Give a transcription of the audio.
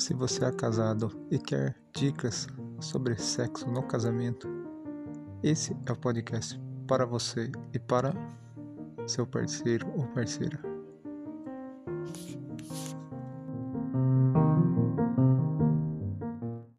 Se você é casado e quer dicas sobre sexo no casamento, esse é o podcast para você e para seu parceiro ou parceira.